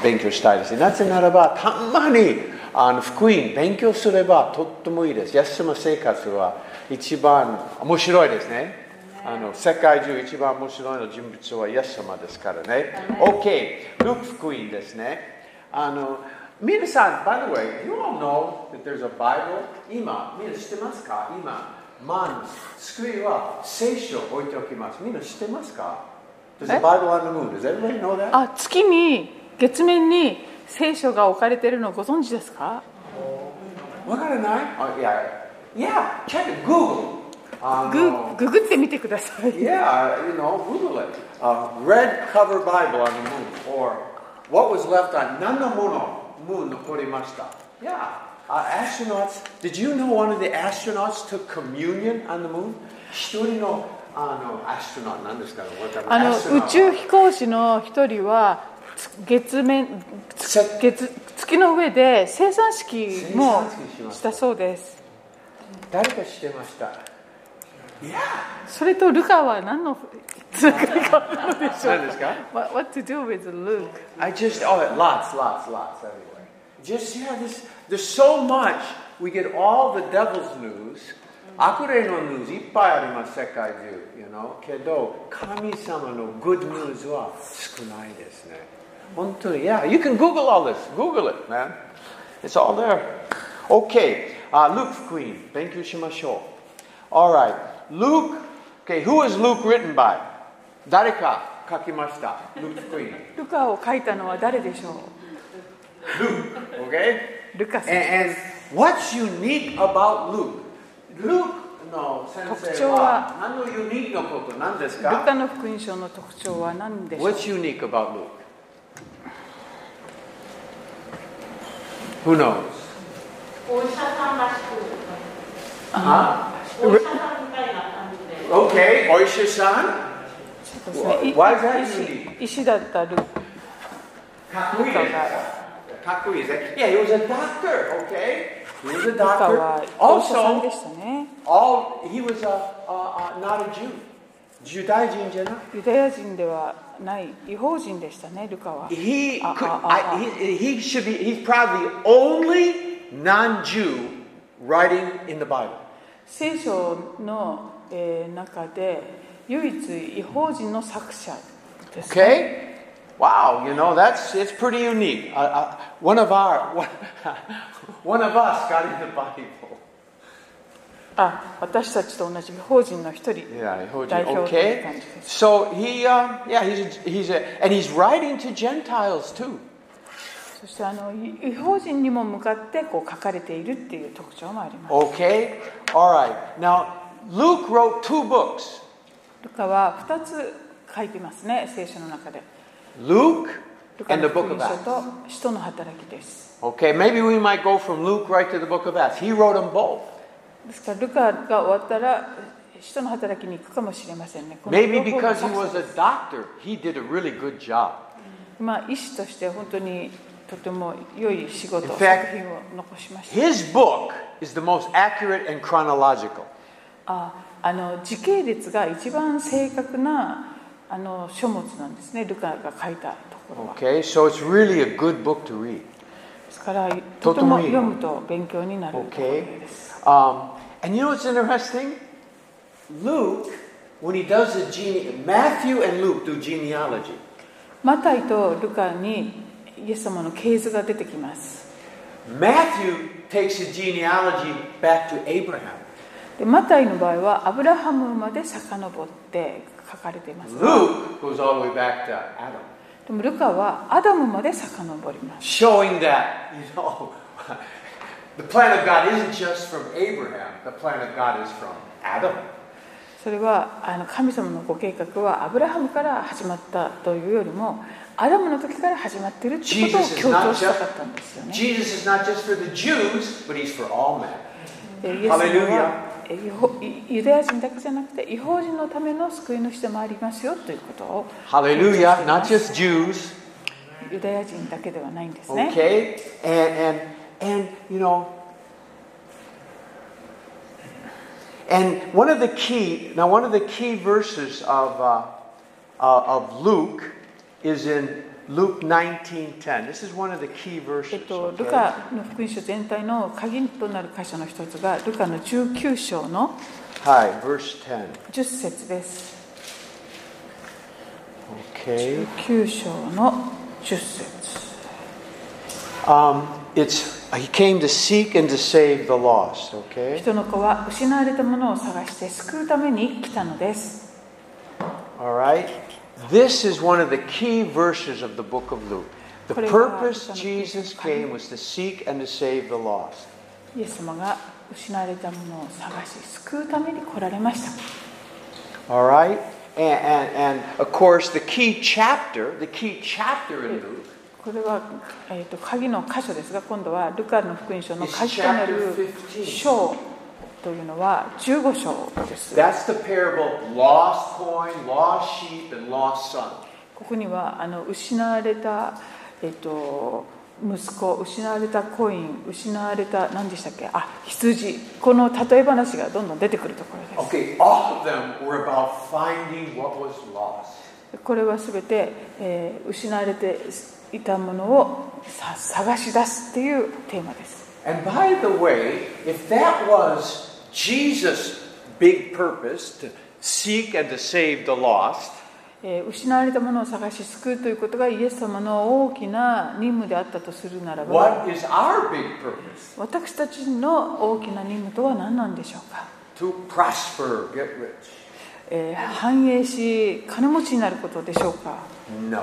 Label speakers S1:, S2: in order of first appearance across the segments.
S1: 勉強したいですね。なぜならば、たまに福音勉強すればとってもいいです。イエス様の生活は一番面白いですね。世界中一番面白いの人物はイエス様ですからね。OK、ルーク福音ですね。皆さん、by the way, you all know that there's a Bible? 今、みんな知ってますか？今、机は聖書を置いておきます。みんな知ってますか？ There's a Bible on the moon. Does everybody know that?
S2: 月に、月面に聖書が置かれているのをご存知ですか？
S1: わからない？ Yeah, check it, Google.
S2: ググってみてください。
S1: Yeah, Google it. Red cover Bible on the moon, or what was left on 何のもの moon 残りました。Yeah, astronauts. Did you know one of the astronauts took communion on the moon? 一人のアストロナウトなんですかね。
S2: 宇宙飛行士の一人は月の上で生産式もしたそうです。
S1: 誰か知ってました？
S2: それとルカは何のつながりがあるのでしょうか？
S1: 何ですか？
S2: What to do with Luke?
S1: Lots anyway. There's so much. We get all the devil's news. 悪霊のニュースいっぱいあります、世界中。けど、神様の good news は少ないですね。本当に、Yeah, you can Google all this. Google it, man. It's all there. Okay, Luke 福音、勉強しましょう。Alright, Luke, okay, who is Luke written by? 誰か書きました、Luke 福音。
S2: ルカを書いたのは誰でしょう？
S1: Luke, okay?
S2: ルカさん。
S1: And what's unique about Luke? Luke の先生は何のユニークなことなんですか？
S2: ルカの福音書の特徴は何でしょう？
S1: What's unique about Luke? Who knows?
S3: お医者さんらしく。お医者さんみたいな感じで。
S1: Okay, お医者さん。Why is that unique?
S2: 医師だったルカ
S1: かっこいいです。かっこいいですね。Yeah, he was a doctor, okay? He was a
S2: ルカ
S1: doctor.
S2: はお医者さんで
S1: Also,
S2: したね。
S1: he was not a Jew. ユダヤ人じゃない。
S2: ユダヤ人ではない異邦人でしたね、ルカは。
S1: He's probably the only non-Jew writing in the Bible.
S2: 聖書の中で唯一異邦人の作者ですね。
S1: Okay? Wow, it's pretty unique. One of us got in the Bible.
S2: 私たちと同じ異邦人の一人、代表という感じです。
S1: So he's writing to Gentiles too.
S2: そして異邦人にも向かって書かれているっていう特徴もあります。
S1: Okay? All right. Now, Luke wrote 2 books.
S2: ルカは2つ書いてますね、聖書の中で。
S1: Luke
S2: ルカ
S1: and
S2: の
S1: the
S2: 福
S1: book
S2: 音
S1: of
S2: 書
S1: Acts.
S2: と使徒の働きです。
S1: Okay, maybe we might go from Luke right to the book of Acts. He wrote them both.
S2: ですからルカが終わったら使徒の働きに行くかもしれませんね。
S1: Maybe because he was a doctor, he did a really good job.
S2: 医師として本当にとても良い仕事、
S1: In
S2: 作
S1: fact,
S2: 品を残しました。
S1: his book is the most accurate and chronological.
S2: 時系列が一番正確な書物なんですね、ルカが書いたところは。
S1: Okay, so it's really a good book to read.
S2: ですからとても読むと勉強になるところです。
S1: And you know what's interesting? Luke, when he does Matthew and Luke do genealogy.
S2: マタイとルカにイエス様の系図が出てきます。
S1: Matthew takes the genealogy back to Abraham.
S2: でマタイの場合はアブラハムまで遡って書かれていますが、
S1: Luke goes all the way back to Adam.
S2: でもルカはアダムまで遡ります。
S1: Showing that, the plan of God isn't just from Abraham. The plan of God is from Adam.
S2: それは神様のご計画はアブラハムから始まったというよりもアダムの時から始まっているということを強調したかったんですよね。
S1: Jesus is not just for the Jews, but he's for all men.
S2: イエス様はユダヤ人だけじゃなくて異邦人のための救い主でもありますよということを
S1: Hallelujah, not just Jews.
S2: ユダヤ人だけではないんですね。
S1: Okay, and one of the key verses of Luke is in Luke 19:10. This is one of the key verses.
S2: ルカの福音書全体の鍵となる箇所の一つがルカの19章の
S1: Hi, verse 10.
S2: 10節です。
S1: Okay.
S2: 19章の10節。
S1: He came to seek and to save the lost. Okay.
S2: 人の子は失われたものを探して救うために来たのです。
S1: All right. This is one of the key verses of the book of Luke. The purpose Jesus came was to seek and to save the lost.
S2: イエス様が失われたものを探し救うために来られました。
S1: All right. And of course, the key chapter in Luke.
S2: これは、鍵の箇所ですが、今度はルカの福音書の鍵となる章というのは15章です。
S1: That's the parable of lost coin, lost sheep, and lost son.
S2: ここには失われた、息子、失われたコイン、失われた何でしたっけ？羊。この例え話がどんどん出てくるところです。
S1: Okay, all of them were about finding what was lost.
S2: これはすべて、失われていたものを探し出すっていうテーマです。
S1: And by the way, if that was Jesus' big purpose to seek and to save the lost,
S2: 失われたものを探し救うということがイエス様の大きな任務であったとするならば、
S1: what is our big purpose?
S2: 私たちの大きな任務とは何なんでしょうか。
S1: To prosper, get rich.
S2: 繁栄し金持ちになることでしょうか。
S1: No.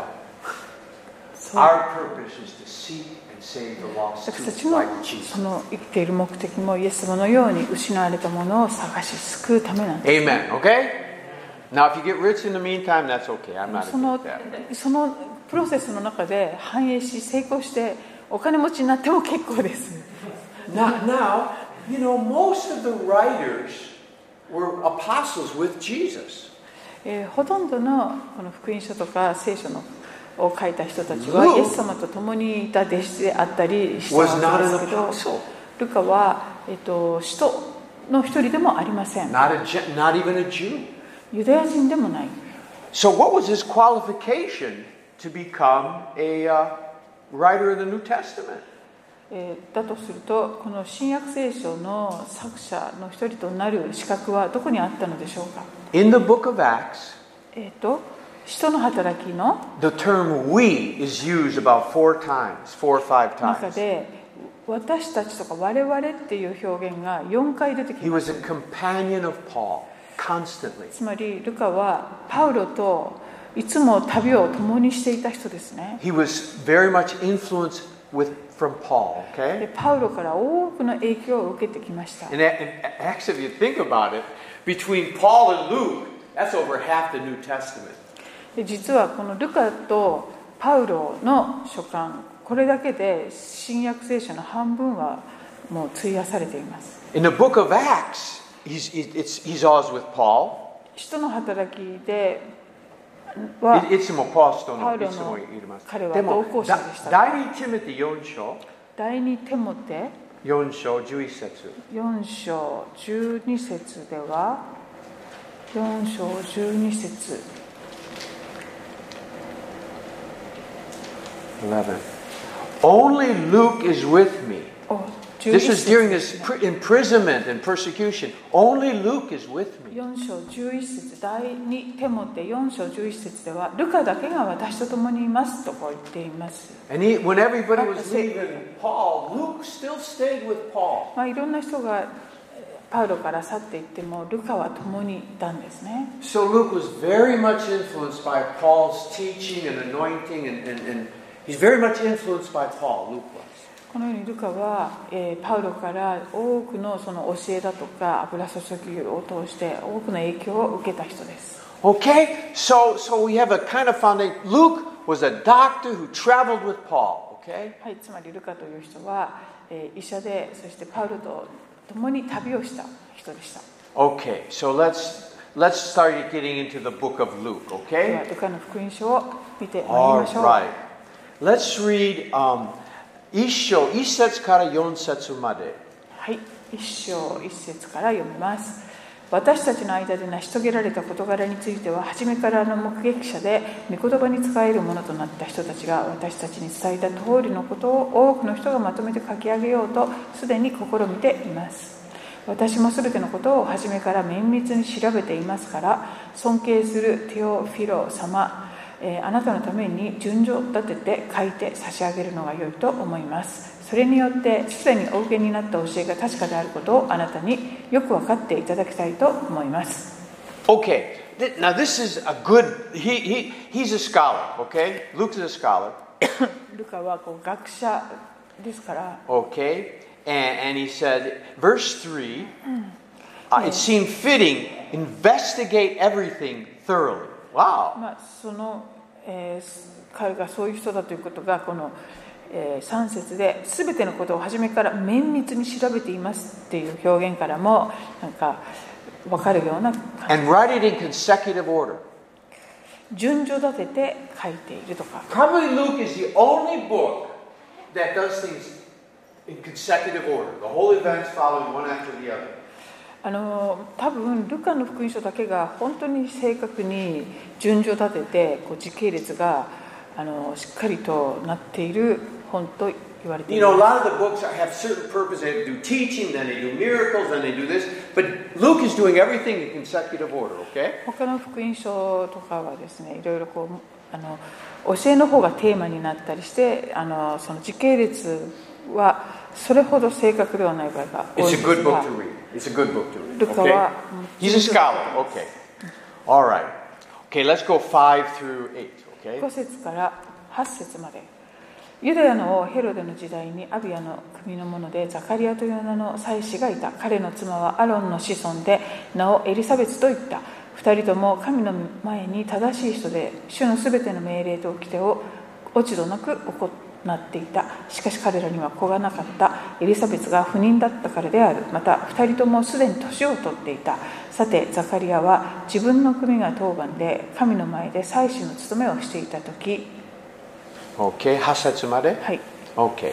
S1: Our purpose is to seek and save the lost
S2: 私たち
S1: too,
S2: の
S1: like Jesus.
S2: その生きている目的もイエス様のように失われたものを探し救うためなんです。
S1: Amen. Okay? Now, if you get rich in the meantime, that's okay. I'm not
S2: その
S1: against that.
S2: そのプロセスの中で繁栄し成功してお金持ちになっても結構です。
S1: Now, you know, most of the writers were apostles with Jesus.
S2: ほとんどのこの福音書とか聖書のを書いた人たちはイエス様と共にいた弟子であったりしたわけですけど、ルカは、使徒の一人でもありません。
S1: Not even a Jew.
S2: ユダヤ人でもない。
S1: So what was his qualification to become a writer of the New Testament?
S2: だとすると、この新約聖書の作者の一人となる資格はどこにあったのでしょうか。
S1: In the book of Acts,
S2: 使徒の働きの
S1: the term we is used about 4 or 5
S2: 中
S1: times.
S2: で私たちとか我々っていう表現が4回出てき
S1: He
S2: ま
S1: was
S2: す。
S1: a companion of Paul constantly.
S2: つまりルカはパウロといつも旅を共にしていた人ですね。
S1: He was very much influenced from Paul,
S2: で
S1: okay?
S2: パウロから多くの影響を受けてきました。
S1: And actually, if you think about it, between Paul and Luke, that's over half the New Testament.
S2: で実はこのルカとパウロの書簡、これだけで新約聖書の半分はもう費やされています。
S1: In the book of Acts, he's always with Paul.
S2: 使徒の働きでは、
S1: いつもパウロの
S2: パウロの彼は同行者でした。
S1: 第2テモテ4章
S2: 第2テモテ
S1: 4章11節
S2: 4章12節では、4章12節
S1: 11. Only Luke is with me. This is during his imprisonment and persecution. Only Luke is with me.
S2: 4章11節第2テモテ4章11節では、ルカだけが私と共にいますとこう言っています。
S1: And when everybody was leaving Paul, Luke still stayed with Paul.
S2: いろんな人がパウロから去っていっても、ルカは共にいたんですね。
S1: So Luke was very much influenced by Paul's teaching and anointing, and he's very much influenced by Paul, Luke was.
S2: このようにルカは、パウロから多くのその教えだとか油注ぎを通して多くの影響を受けた人です。
S1: Okay, so we have a kind of foundation. Luke was a doctor who traveled with Paul. Okay.
S2: はい、つまりルカという人は、医者で、そしてパウロと共に旅をした人でした。
S1: Okay, so let's start getting into the book of Luke.
S2: では
S1: Okay.
S2: ルカの福音書を見てまいり
S1: All
S2: ましょう。
S1: right. Let's read 1章1節から4節まで。
S2: はい、1章1節から読みます。 私たちの間で成し遂げられた事柄については、初めからの目撃者で御言葉に使えるものとなった人たちが私たちに伝えた通りのことを多くの人がまとめて書き上げようとすでに試みています。私もすべてのことを初めから綿密に調べていますから、尊敬するテオフィロ様、あなたのために順序立てて書いて差し上げるのが良いと思います。それによってすでにお受けになった教えが確かであることをあなたによく分かっていただきたいと思います。
S1: Okay, now this is a good, he's a scholar, okay? Luke's a scholar.
S2: ルカは学者ですから。
S1: Okay, and he said, verse 3, it seemed fitting, investigate everything thoroughly. Wow.
S2: その、彼がそういう人だということがこの3節で全てのことを初めから綿密に調べていますっていう表現からもなんか分かるような感じ。
S1: And write it in consecutive order.
S2: 順序立てて書いているとか。
S1: Probably Luke is the only book that does things in consecutive order. The whole events following one after the other.
S2: 多分ルカの福音書だけが本当に正確に順序立てて時系列がしっかりとなっている本と言われています。
S1: You know, a lot of the books have certain purpose. They do teaching, then they do miracles, then they do this. But Luke is doing everything in consecutive order, okay?
S2: 他の福音書とかはですね、いろいろ教えの方がテーマになったりして、その時系列はそれほど正確ではない場合が多いですが。
S1: It's a good book to read. It's a good book to read.
S2: ルカは
S1: He's a scholar. Okay. All right. Okay, let's go 5 through 8.
S2: 5節から8節まで。ユダヤの王ヘロデの時代にアビアの組の者でザカリアという名の祭司がいた。彼の妻はアロンの子孫で名をエリサベツと言った。二人とも神の前に正しい人で主のすべての命令と掟を落ち度なく行っていた。しかし彼らには子がなかった。エリサベツが不妊だったからである。また二人ともすでに年を取っていた。さてザカリアは自分の組が当番で神の前で祭司の務めをしていたとき。
S1: Okay, 8節まで?
S2: はい。
S1: Okay.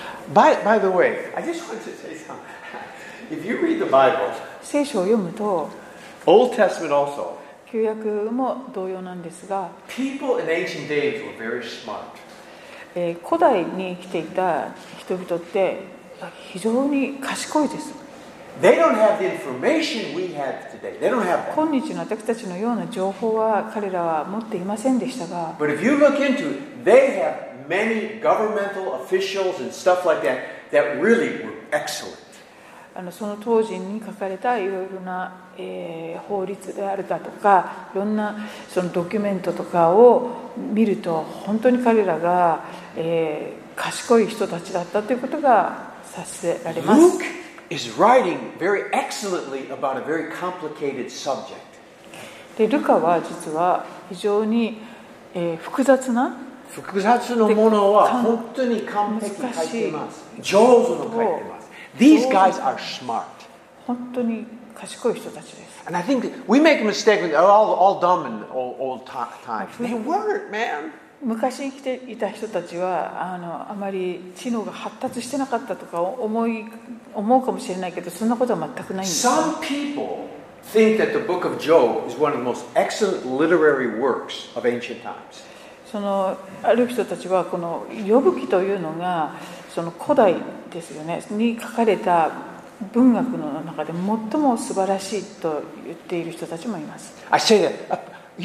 S1: By the way, I just want to say something. If you read the Bible,
S2: 聖書を読むと
S1: Old Testament also,
S2: 旧約も同様なんですが、
S1: people in ancient days were very smart.
S2: 古代に生きていた人々って非常に賢いです。
S1: They don't have the information we have today. They don't have that.
S2: 今日の私たちのような情報は彼らは持っていませんでしたが、
S1: But if you look into it, they have many governmental officials and stuff like that that really were excellent.
S2: その当時に書かれたいろいろな、法律であるだとか、いろんなそのドキュメントとかを見ると本当に彼らが、賢い人たちだったということが察せられます。
S1: Luke is writing very excellently about a very complicated subject.
S2: でルカは実は非常に、複雑な
S1: 複雑なものは本当に完璧に書いています。上手に書いています。These guys are smart.
S2: 本当に賢い人たちです。
S1: And I think we make a mistake with all dumb in old times. They weren't, man.
S2: 昔生きていた人たちはあまり知能が発達してなかったとか思うかもしれないけど、そんなことは全くないんです。
S1: Some people think that the book of Job is one of the most excellent literary works of ancient times.
S2: そのある人たちはこのヨブ記というのがその古代ですよねに書かれた文学の中で最も素晴らしいと言っている人たちもいます。
S1: I say that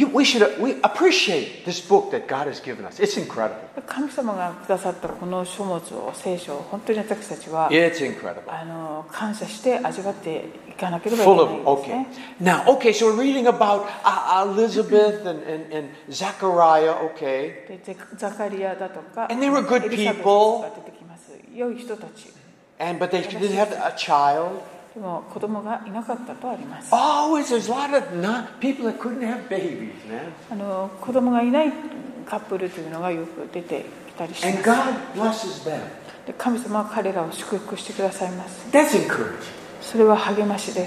S1: we appreciate this book that God has given us. It's incredible.
S2: 神様がくださったこの書物を聖書を本当に私たちは
S1: It's incredible.
S2: 感謝して味わっていかなければいけないんですね。
S1: Now, okay, so we're reading about Elizabeth and Zechariah, okay?
S2: でザカリアだとか
S1: And they were good
S2: エリザベス
S1: people.
S2: が出てきます。良い人たち。
S1: But they didn't have a child.
S2: でも子供がいなかったとあります。
S1: Always there's a lot of people that couldn't have babies, man.
S2: 子供がいないカップルというのがよく出てきたりします。
S1: And God blesses them.
S2: で神様は彼らを祝福してくださいます。
S1: That's encouraging.
S2: それは励ましです。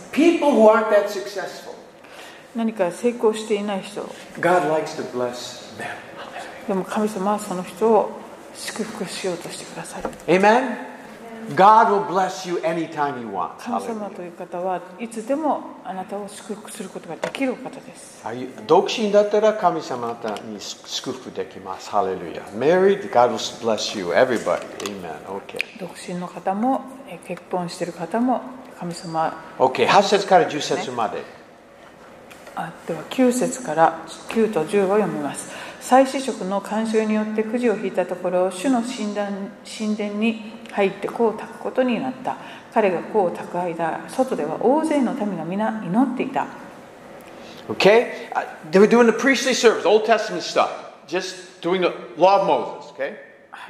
S1: People who aren't that successful,
S2: 何か成功していない人、
S1: God likes to bless them.
S2: でも神様はその人を祝福しようとしてくださる。
S1: Amen? God will bless you anytime He wants.
S2: 神様という方はいつでもあなたを祝福することができる方です。
S1: 独身だったら神様あなたに祝福できます。ハレルヤ。Married, God will bless you. Everybody. Amen. Okay.
S2: 独身の方も結婚している方も神様。
S1: Okay. 8節から10節まで。
S2: では9節から9と10を読みます。祭司職の慣習によってくじを引いたところ、主の神殿に入って香を焚くことになった。彼が香を焚く間、外では大勢の民が皆祈っていた。
S1: Okay? They were doing the priestly service, Old Testament stuff. Just doing the law of Moses. Okay?
S2: はい、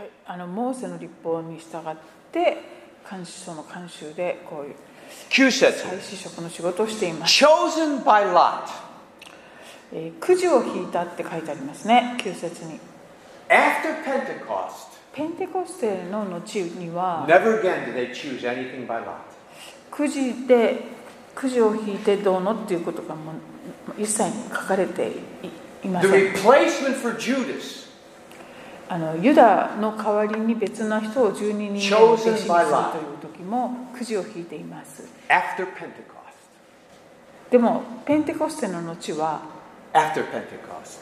S2: モーセの律法に従ってその慣習でこういう
S1: 9節。
S2: 祭司職の仕事をしています。
S1: Chosen by lot.
S2: くじを引いたって書いてありますね、9節に。
S1: After Pentecost,
S2: ペンテコステの後には
S1: never again did they choose anything by lot.
S2: くじでくじを引いてどうのっていうことがもう一切書かれていません。
S1: The replacement for Judas,
S2: ユダの代わりに別な人を12人目の弟子にするという時もくじを引いています。
S1: after Pentecost.
S2: でもペンテコステの後は
S1: After Pentecost,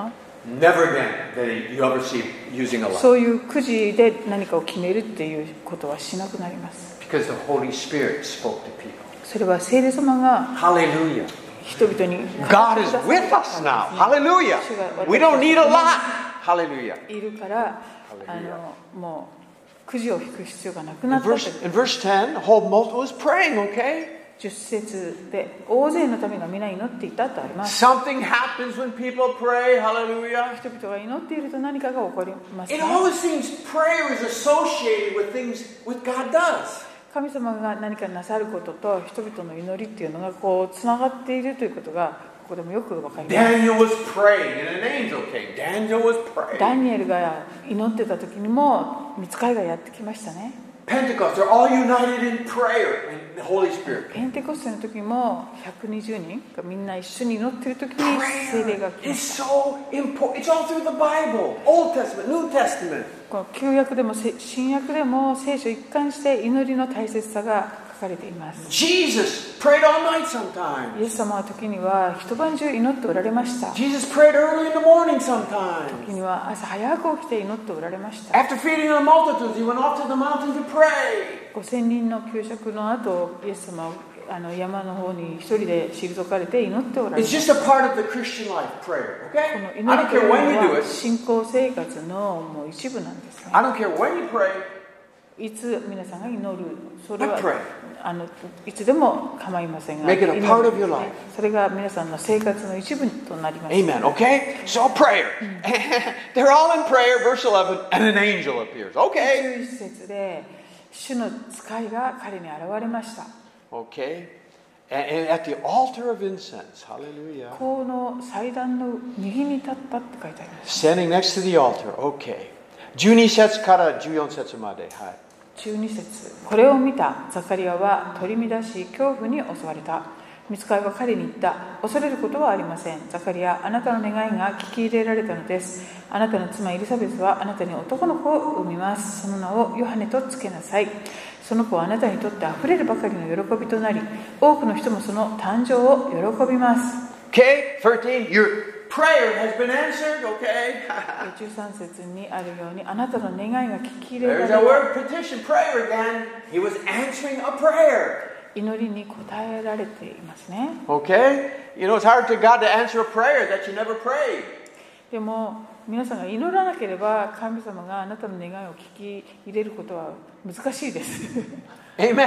S1: never again did you ever see using a lot.
S2: そういうくじで何かを決めるっていうことはしなくなります。
S1: Because the Holy Spirit spoke to people.
S2: それは聖霊様が
S1: Hallelujah.
S2: 人々に
S1: God is with us now. Hallelujah. We don't need a lot. Hallelujah.
S2: いるからもうくじを引く必要がなくなったという。
S1: In verse 10, the whole multitude was praying, okay?
S2: 10節で大勢の民が皆祈っていたとあります。
S1: Something happens when people pray. Hallelujah.
S2: 人々が祈っていると何かが起こります、ね。
S1: It always seems prayer is associated with things what God does.
S2: 神様が何かなさることと人々の祈りっていうのがこうつながっているということがここでもよくわかります。
S1: Daniel was praying and an angel came. Daniel was praying.
S2: ダニエルが祈ってた時にも御使いがやってきましたね。
S1: Pentecost, they're all united in prayer and the Holy Spirit.
S2: ペンテコステの時も120人がみんな一緒に祈っている時に聖霊が来ました。
S1: It's so important. It's all through the Bible. Old Testament, New Testament.
S2: この旧約でも新約でも聖書一貫して祈りの大切さが書かれています。
S1: Jesus prayed all night sometimes.
S2: イエス様は時には一晩中祈っておられました。
S1: Jesus prayed early in the morning sometimes.
S2: 時には朝早く起きて祈っておられました。
S1: After feeding the multitudes, he went off to the mountain to pray.
S2: 5000人の給食の後、イエス様は山の方に一人で退かれて祈っておられま
S1: It's
S2: し
S1: just
S2: た。
S1: a part of the Christian life, prayer.
S2: こ
S1: Okay?
S2: の
S1: I
S2: 祈
S1: don't
S2: りと
S1: care
S2: いう
S1: when you
S2: の
S1: do
S2: は
S1: it.
S2: 信仰生活のもう一部なんですね。
S1: I don't care when you pray.
S2: いつ皆さんが祈る、それ
S1: I
S2: は
S1: pray.
S2: いつでも構いませんが、
S1: Make it a part of your
S2: 祈る
S1: life.
S2: それが皆さんの生活の一部となります。
S1: Amen. Okay? So prayer. They're all in prayer. Verse 11, and an angel appears. Okay.
S2: 11節で主の使いが彼に現れました。
S1: Okay. And at the altar of incense. Hallelujah.
S2: この祭壇の右に立ったって書いてあります。
S1: Standing next to the altar. Okay. 12節から14節まで。はい。
S2: 12節、これを見たザカリアは取り乱し恐怖に襲われた。御使いは彼に言った。恐れることはありません。ザカリア、あなたの願いが聞き入れられたのです。あなたの妻エリザベスはあなたに男の子を産みます。その名をヨハネとつけなさい。その子はあなたにとってあふれるばかりの喜びとなり、多くの人もその誕生を喜びます。
S1: Okay, 13, your prayer has been answered, okay?
S2: 13節にあるように、あなたの願いが聞き入れられ
S1: There's
S2: た。
S1: that word petition, prayer again. He was answering a prayer.
S2: 祈りに応えられていますね。
S1: Okay? You know, it's hard to God to answer a prayer that you never prayed.
S2: でも皆さんが祈らなければ神様があなたの願いを聞き入れることは難しいです。
S1: Amen.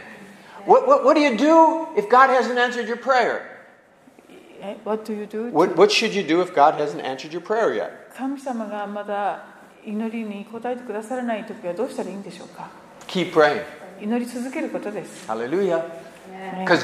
S1: What do you do if God hasn't answered your prayer?
S2: What do you do?
S1: What should you do if God hasn't answered your prayer yet?
S2: 神様がまだ祈りに応えてくださらないときはどうしたらいいんでしょうか。
S1: Keep praying.
S2: 祈り続けることです。
S1: Hallelujah. Because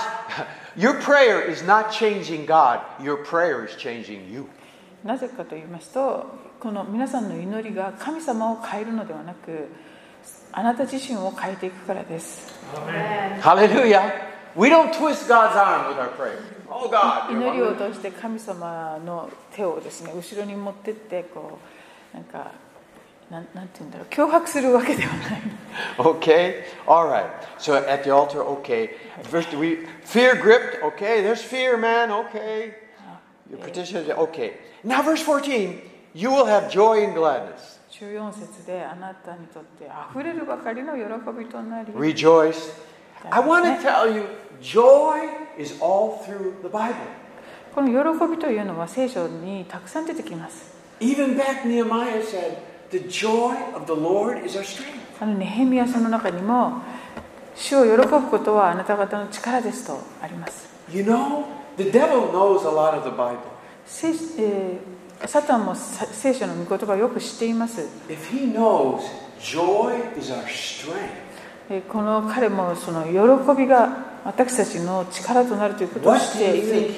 S1: your prayer is not changing God. Your prayer is changing you.
S2: なぜかと言いますと、この皆さんの祈りが神様を変えるのではなく、あなた自身を変えていくからです。
S1: Hallelujah. We don't twist God's arm with our prayer. Oh God.
S2: 祈りを通して神様の手をですね、後ろに持ってってこうなんかなんて言うんだろう、脅迫するわけではない。
S1: Okay? All right. So at the altar, okay. First, fear gripped. Okay, there's fear, man. Okay. Your petition is okay. Now, verse 14. You will have joy and gladness.
S2: 14節であなたにとって溢れるばかりの喜びとなり。
S1: Rejoice. I want to tell you, joy is all through the Bible.
S2: この喜びというのは聖書にたくさん出てきます。
S1: Even back Nehemiah said, the joy of the Lord is our strength.
S2: ネヘミヤ書の中にも、主を喜ぶことはあなた方の力ですとあります。
S1: You know, the devil knows a lot of the Bible.
S2: サタンも聖書の御言葉をよく知っています。
S1: If he knows joy is our strength.
S2: この彼もその喜びが私たちの力となるということを知っている。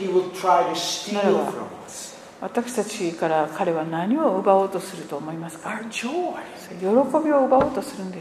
S2: 私たちから彼は何を奪おうとすると思いますか？喜びを奪おうとするんです。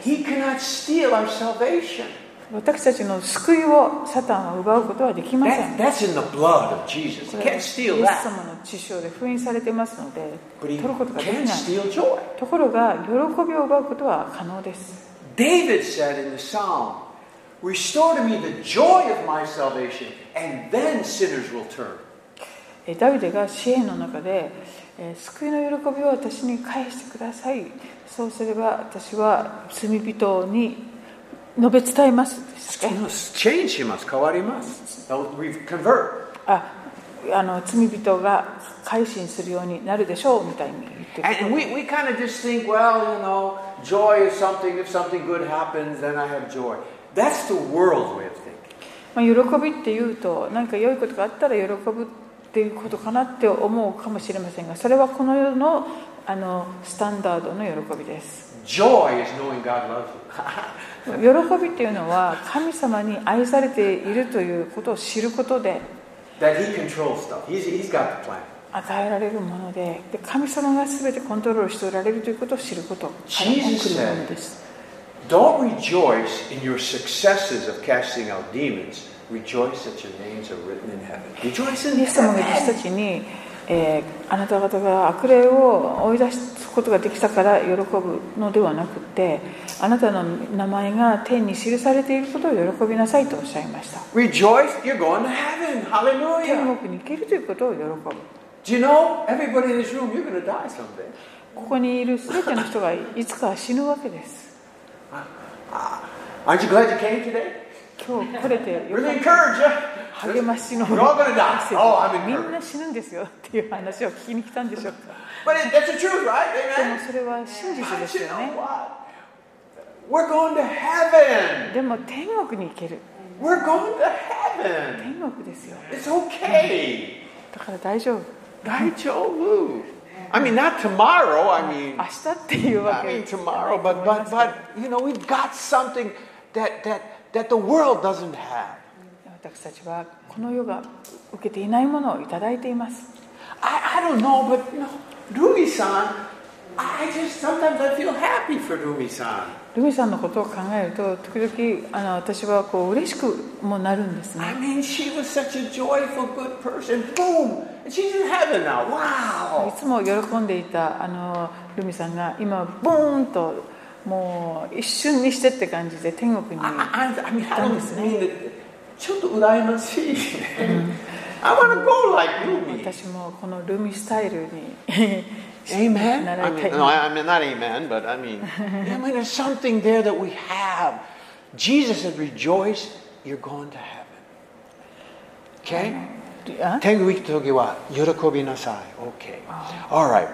S2: 私たちの救いをサタンは奪うことはできません。これはイエス様の血潮で封印されていますので取ることができない。ところが喜びを奪うことは可能です。
S1: David said in the Psalm, Restore to me the joy of my salvation, and then sinners will turn.
S2: ダビデが詩篇の中で、救いの喜びを私に返してください。そうすれば私は罪人に述べ伝えます。
S1: Change します。変わります。Convert.
S2: 罪人が改心するようになるでしょうみたいに言ってる。
S1: And we kind of just think, well, you know, joy is something. If something good happens, then I have joy. That's the world's way of thinking.
S2: 喜びっていうと何か良いことがあったら喜ぶっていうことかなって思うかもしれませんが、それはこの世のスタンダードの喜びです。
S1: Joy is knowing God loves
S2: you. 喜びっていうのは神様に愛されているということを知ることで、
S1: that He controls stuff. He's got the plan.
S2: 与えられるもので、神様が全てコントロールしておられるということを知ることから起こるものです。
S1: Don't rejoice in your successes of casting out demons. Rejoice that your names are written in heaven. Rejoice in heaven. イエス様が私たちに、あなた方が悪霊を追い出すことができたから喜ぶのではなくて、あなたの名前が天に記されていることを喜びなさいとおっしゃいました。 Rejoice, you're going to heaven. Hallelujah.
S2: 天国に行けるということを喜ぶ。
S1: Do you know, everybody in this room, you're going to die someday.
S2: ここにいるすべての人がいつか死ぬわけです。
S1: Aren't you glad you came today?
S2: 今日来れてよかった。
S1: Really encourage you.
S2: 励ましの
S1: みん
S2: な死ぬんですよっていう話を聞きに来たんでしょうか。
S1: But that's the truth, right?
S2: でもそれは真実ですよね。
S1: We're going to heaven.
S2: でも天国に行ける。
S1: We're going to heaven.
S2: 天国ですよ。
S1: It's okay.
S2: だから大丈夫。
S1: 大丈夫。I mean, not tomorrow. I mean,
S2: 明日っていうわけ。
S1: I mean tomorrow, but you know, we've got something that the world doesn't have.
S2: 私たちはこの世が受けていないものをいただいています。
S1: I don't know, but you know, Rumi-san, sometimes I feel happy for Rumi-san.
S2: ルミさんのことを考えると時々私はこう嬉しくもなるんですね。
S1: I mean, she was such a joyful, good person. Boom, she's in heaven now. Wow.
S2: いつも喜んでいたルミさんが今ボーンともう一瞬にしてって感じで天国に行ったんですね。
S1: ちょっと羨ましい。I want to go like Rumi.
S2: 私もこのルミスタイルに
S1: Amen. I mean, not amen, but I mean, there's something there that we have. Jesus said, "Rejoice, you're going to heaven." Okay? 天国行くときは喜びなさい。Okay. All right.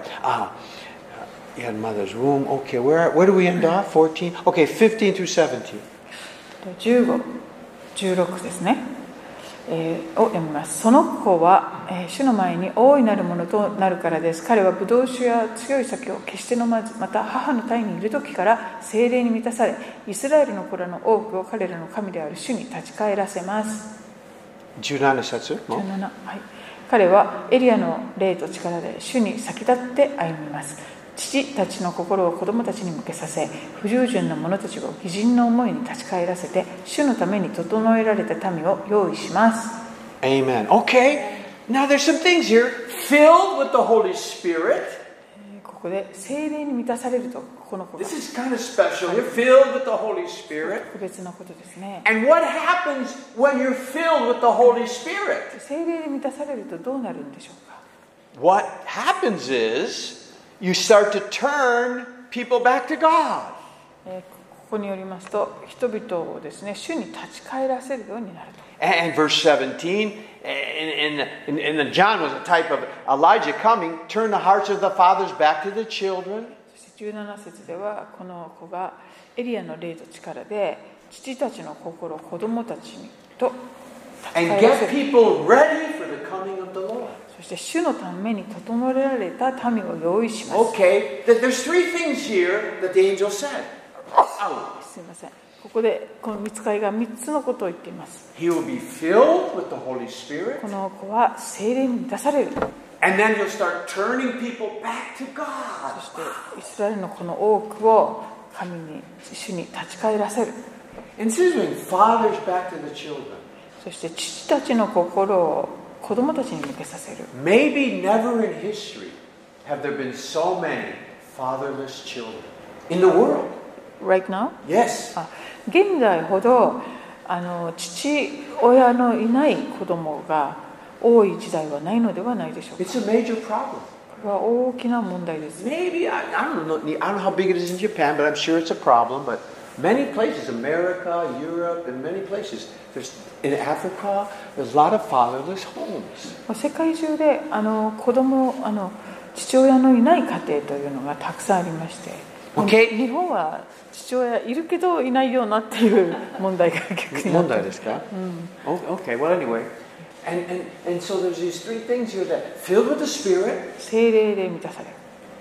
S1: You had mother's womb. Okay. Where do we end off? 14. Okay. 15 through 17.
S2: 15、16ですね。を読みます。その子は、主の前に大いなるものとなるからです。彼はブドウ酒や強い酒を決して飲まず、また母の体にいる時から聖霊に満たされ、イスラエルの子らの多くを彼らの神である主に立ち返らせます。
S1: 17節。
S2: 17、はい。彼はエリアの霊と力で主に先立って歩みます。父たちの心を子供たちに向けさせ、不従順な者たちを義人の思いに立ち返らせて、主のために整えられた民を用意します。
S1: Amen. Okay. Now there's some things here. Filled with the Holy Spirit.
S2: ここで聖霊に満たされるとこ男の子が。
S1: This is kind of special. You're filled with the Holy Spirit.
S2: 特別なことですね。
S1: And what happens when you're filled with the Holy Spirit?
S2: 聖霊で満たされるとどうなるんでしょうか。
S1: What happens is you start to turn people back to God.
S2: ここによりますと、人々をですね、主に立ち返らせるようになると。
S1: And verse 17, and John was a type of Elijah coming, turn the hearts of the fathers back to the children.
S2: そして17節では、この子がエリアの霊と力で父たちの心を子供たちにと立ち
S1: And
S2: 返らせ
S1: get
S2: る。
S1: people ready for the coming of the Lord.
S2: そして主のために整えられた民を用意します。
S1: Okay, there's three things here that the angel said. Oh,
S2: すみません。ここでこの御使いが3つのことを言っています。
S1: he will be filled with the Holy Spirit,
S2: この子は聖霊に満たされる。
S1: and then he'll start turning people back to
S2: そ
S1: God.
S2: してイスラエルのこの多くを神に主に立ち返らせる。
S1: And this is when fathers back to the children.
S2: そして父たちの心を子供たちに向けさせる。
S1: Maybe never in history have there been so many fatherless children in the world.
S2: Right now?
S1: Yes.
S2: 現在ほど父親のいない子供が多い時代はないのではないでしょうか。
S1: It's a major problem.
S2: これは大きな問題です。
S1: Maybe, I don't know how big it is in Japan, but I'm sure it's a problem. But many places, America, Europe, and many places, in Africa, there's a lot of fatherless homes.
S2: 世界中で子供父親のいない家庭というのがたくさんありまして、
S1: Okay.
S2: 日本は父親いるけどいないようなっていう問題が逆にあった。
S1: Okay, well, anyway. And so there's these three things here that filled with the Spirit,
S2: 聖霊で満たされる。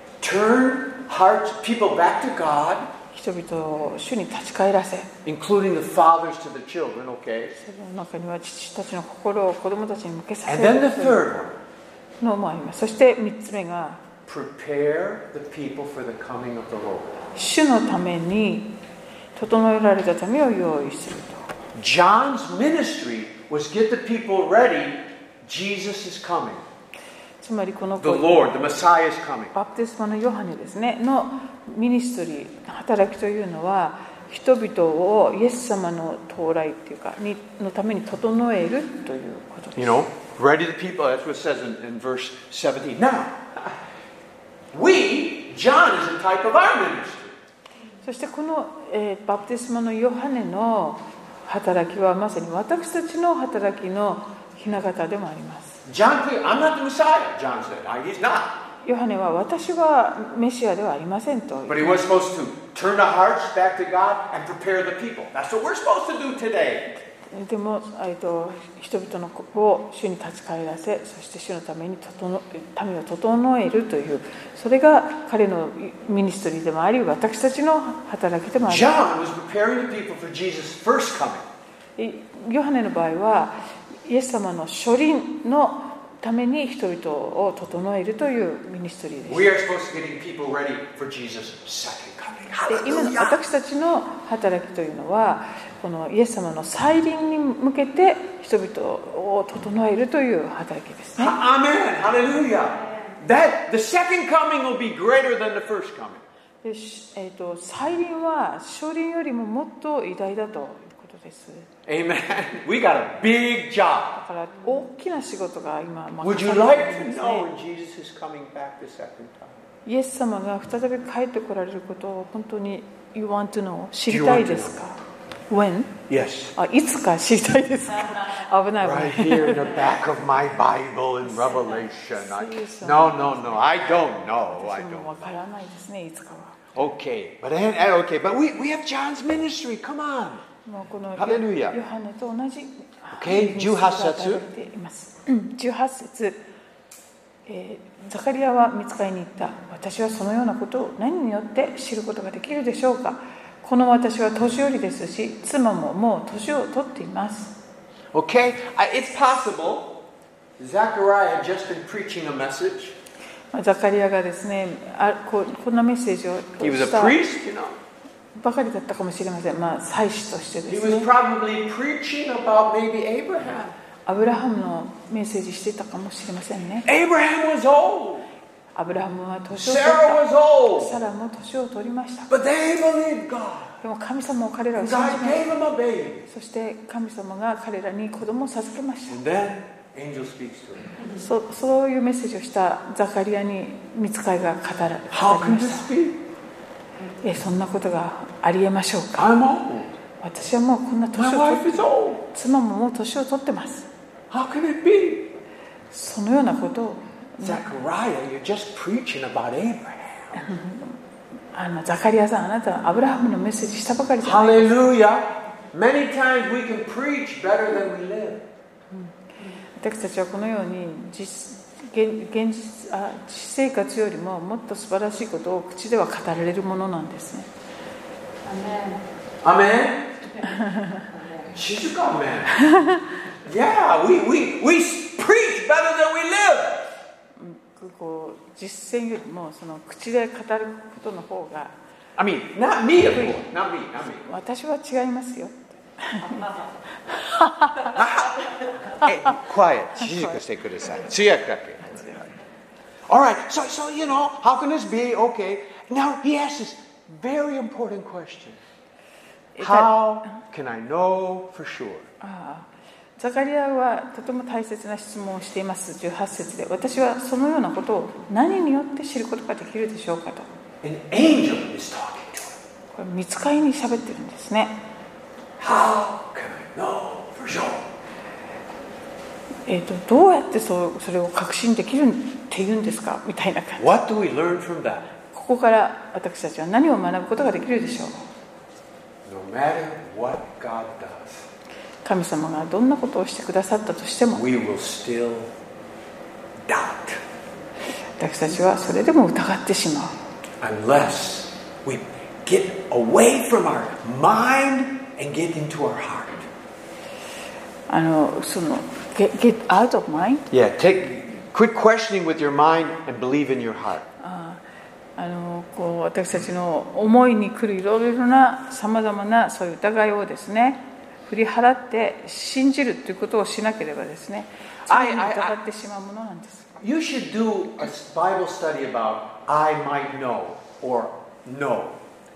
S1: turn people back to God,
S2: 人々を主に立ち返らせ、
S1: including the fathers to the children, okay?
S2: その中には父たちの心を子供たちに向けさせ
S1: And
S2: る
S1: then the third one,
S2: のもあります。そして3つ目が
S1: prepare the people for the coming of the Lord.
S2: 主のために整えられた民を用意すると。
S1: John's ministry was get the people ready. Jesus is coming.
S2: つまりこの
S1: The Lord, the Messiah is coming.
S2: バプテスマのヨハネですねのミニストリー働きというのは人々をイエス様の到来っていうかのために整えるということです。
S1: You know, ready the people. That's what it says in verse 17. Now, John is a type of our ministry.
S2: そしてこの、バプテスマのヨハネの働きはまさに私たちの働きの雛形でもあります。
S1: John, I'm not the Messiah, John said. He's not.
S2: ヨハネは私はメシアではありませんと。
S1: But he was supposed to turn the hearts back to God and prepare the people. That's what we're supposed to do today.
S2: でも人々の心を主に立ち返らせ、そして主のために民を整えるという、それが彼のミニストリーでもあり、私たちの働きでもあります。
S1: John was preparing the people for Jesus' first coming.
S2: ヨハネの場合はイエス様の初臨のために人々を整えるというミニストリーです。
S1: We are supposed to get people ready for Jesus' second coming.
S2: で今の私たちの働きというのはこのイエス様の再臨に向けて人々を整えるという働きですね。
S1: Amen. Hallelujah. The second coming will be greater than the first coming.
S2: で再臨は初臨よりももっと偉大だということです。
S1: Amen. We got a big job.
S2: だから大きな仕事が今
S1: Would
S2: 任
S1: you
S2: されてい
S1: like
S2: るん
S1: to
S2: です
S1: know
S2: ね。
S1: when Jesus is coming back the second time?
S2: イエス様が再び帰ってこられることを本当に You want to know 知りたいですか？ When?
S1: Yes.
S2: いつか知りたいですか？危ない危ない。
S1: Right here in the back of my Bible in Revelation. No. I don't know.
S2: 私もわからないですね、いつかは。
S1: Okay. But we have John's ministry. Come on.
S2: もうこの
S1: Hallelujah.
S2: ヨハネと同じ
S1: Okay, 18節。
S2: 18節、ザカリアは御使いに言った。私はそのようなことを何によって知ることができるでしょうか。この私は年寄りですし、妻ももう年を取っています。
S1: Okay. It's possible Zechariah had just been preaching a message.
S2: ザカリアがですね、こんなメッセージを
S1: He was
S2: し
S1: a
S2: た
S1: priest, you know.
S2: ばかりだったかもしれません。祭司としてで
S1: He
S2: す
S1: was
S2: ね。
S1: probably preaching about maybe Abraham.
S2: アブラハムのメッセージしてたかもしれませんね。
S1: Abraham was old.
S2: アブラハムは年を取っ
S1: Sarah was
S2: た。
S1: old.
S2: サラも年を取りました。
S1: But they believed God.
S2: でも神様も彼らを信じ
S1: God
S2: まし
S1: gave them a baby.
S2: た。そして神様が彼らに子供を授けました。
S1: And then angel speaks to him.
S2: そういうメッセージをしたザカリアに御使いが語り
S1: How
S2: ま
S1: can
S2: し
S1: this
S2: た。
S1: be?
S2: そんなことがありえましょうか。
S1: I'm old.
S2: 私はもうこんな年
S1: My
S2: を
S1: wife
S2: 取って
S1: is old.
S2: 妻ももう年を取ってます。
S1: How can it be?
S2: そのようなことを
S1: Zechariah, you're just preaching about Abraham.
S2: ザカリアさん、あなたはアブラハムのメッセージしたばかりじゃない。
S1: Hallelujah. Many times we can preach better than we live.
S2: 私たちはこのように実生活よりももっと素晴らしいことを口では語られるものなんですね。
S1: Amen? Shizuka, amen. Yeah, we preach better than we live.
S2: こう実践よりもその口で語ることの方が
S1: I mean, not me, of course. Not me.
S2: 私は違いますよ。
S1: Hey, quiet. Shizuka, stay kudasai. Tsuyakake. All right, so how can this be? Okay. Now he asks this very important question. How can I know for sure?
S2: ザカリアはとても大切な質問をしています。18節で、私はそのようなことを何によって知ることができるでしょうかと。
S1: An angel is talking to him.
S2: これ御使いに喋ってるんですね。
S1: How can I know for sure?
S2: どうやってそれを確信できるっていうんですかみたいな感じ。
S1: What do we learn from that?
S2: ここから私たちは何を学ぶことができるでしょう。
S1: No matter what God does,
S2: 神様がどんなことをしてくださったとしても、
S1: we will still doubt
S2: 私たちはそれでも疑ってしまう。
S1: unless we get away from our mind and get into our heart.
S2: その get out of mind?
S1: Yeah, quit questioning with your mind and believe in your heart.
S2: こう私たちの思いに来るいろいろなさまざまなそういう疑いをですね、振り払って信じるということをしなければですね、常に疑ってしまうものなんです。
S1: You should do a Bible study about I might know or know.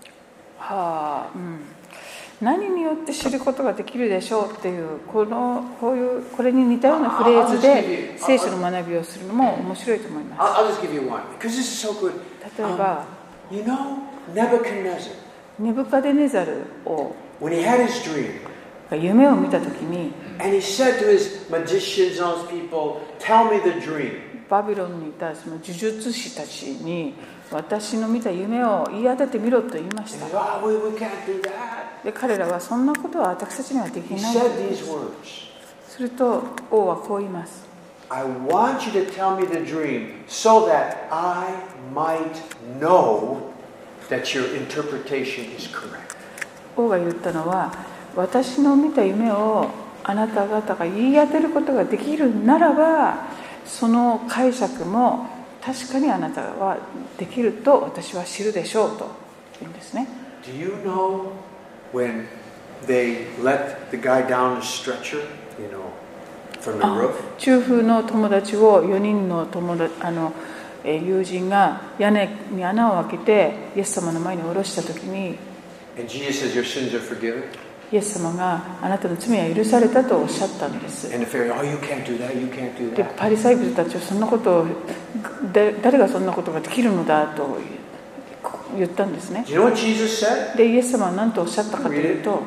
S2: 何によって知ることができるでしょうっていうこれに似たようなフレーズで聖書の学びをするのも面白いと思います。
S1: I'll just give you one because this is so good.
S2: 例えば、
S1: You know, Nebuchadnezzar,
S2: ネブカデネザルを
S1: when he had his dream,
S2: 夢を見たときに
S1: and he said to his magicians, those people, tell me the dream.
S2: バビロンにいたその呪術師たちに私の見た夢を言い当ててみろと言いまし
S1: He
S2: た。
S1: said, we can't do that.
S2: で彼らはそんなことは私たちにはでき
S1: He
S2: ない。
S1: said these words.
S2: すると王はこう言います。
S1: I want you to tell me the dream so that I might know that your interpretation is correct.
S2: 王が言ったのは、私の見た夢をあなた方が言い当てることができるならば、その解釈も確かにあなたはできると私は知るでしょうと言うんですね。
S1: Do you know when they let the guy down the stretcher, from the roof?
S2: 中風の友達を4人の友人が屋根に穴を開けてイエス様の前に下ろしたときに、
S1: And Jesus says, your sins are forgiven.
S2: イエス様があなたの罪は許されたとおっしゃったんです。
S1: And the Pharisee, you can't do that, you can't do
S2: で
S1: that.
S2: パリサイ人たちはそんなことを誰がそんなことができるのだと言ったんですね。
S1: Do you know what Jesus said?
S2: でイエス様は何とおっしゃったかというと、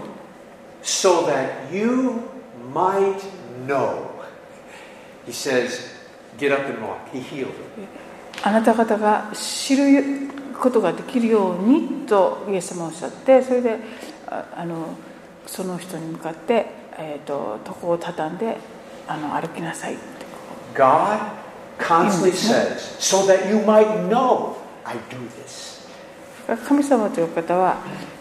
S1: So that you might know. He says, get up and walk. He healed him.
S2: あなた方が知ることができるようにとイエス様はおっしゃって、それでその人に向かって、床を畳んで歩きなさいって。
S1: God constantly says, so that you might know I do this.
S2: 神様という方は、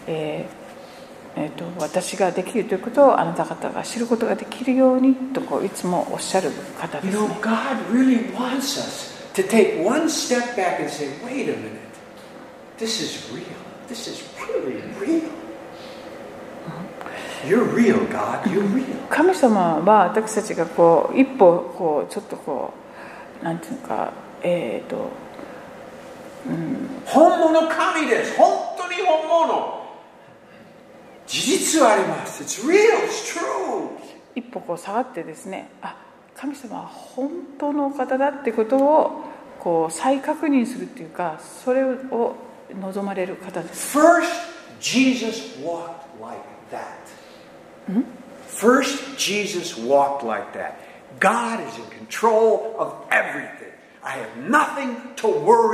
S2: 私ができるということをあなた方が知ることができるようにといつもおっしゃる方ですね。
S1: God really wants us to take one step back and say, wait a minute, this is real. This is really real. You're real, God. You're real.
S2: 神様は私たちが一歩ちょっとなんていうか
S1: 本物神です。本当に本物。事実はあります。It's real, it's true.
S2: 一歩こう下がってですね、神様は本当のお方だってことをこう再確認するっていうか、それを望まれる方です。
S1: First, Jesus walked like that. First, Jesus walked like that. God is in control of everything. I have nothing to worry